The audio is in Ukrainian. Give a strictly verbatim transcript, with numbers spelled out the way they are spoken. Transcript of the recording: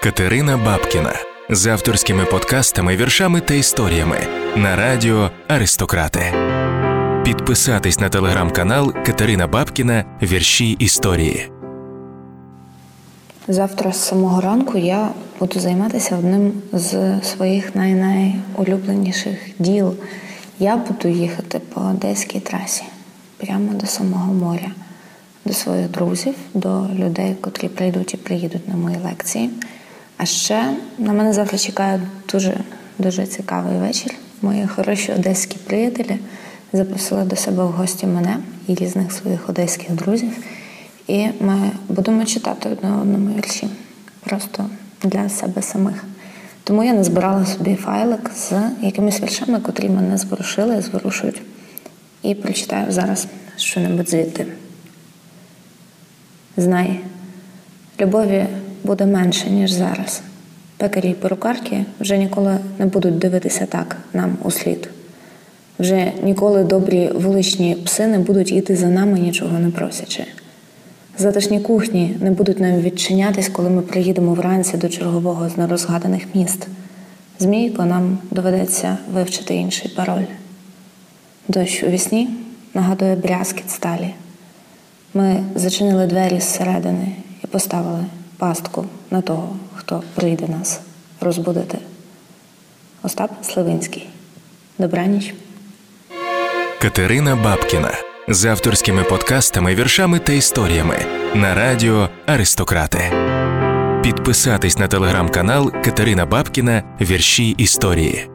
Катерина Бабкіна з авторськими подкастами, віршами та історіями на радіо «Аристократи». Підписатись на телеграм-канал Катерина Бабкіна «Вірші історії». Завтра з самого ранку я буду займатися одним з своїх най-найулюбленіших діл. Я буду їхати по Одеській трасі, прямо до самого моря, до своїх друзів, до людей, котрі прийдуть і приїдуть на мої лекції. А ще на мене завтра чекає дуже, дуже цікавий вечір. Мої хороші одеські приятелі запросили до себе в гості мене і різних своїх одеських друзів. І ми будемо читати одне одному вірші. Просто для себе самих. Тому я назбирала собі файлик з якимись віршами, котрі мене зворушили і зворушують. І прочитаю зараз що-небудь звідти. Знай, любові буде менше, ніж зараз. Пекарі й перукарки вже ніколи не будуть дивитися так нам услід. Вже ніколи добрі вуличні пси не будуть йти за нами, нічого не просячи. Затишні кухні не будуть нам відчинятись, коли ми приїдемо вранці до чергового з нерозгаданих міст. Змійко нам доведеться вивчити інший пароль. Дощ у вісні нагадує брязкіт сталі. Ми зачинили двері зсередини і поставили пастку на того, хто прийде нас розбудити. Остап Сливинський. Добраніч. Катерина Бабкіна з авторськими подкастами, віршами та історіями на радіо «Аристократи». Підписатись на телеграм-канал Катерина Бабкіна «Вірші історії».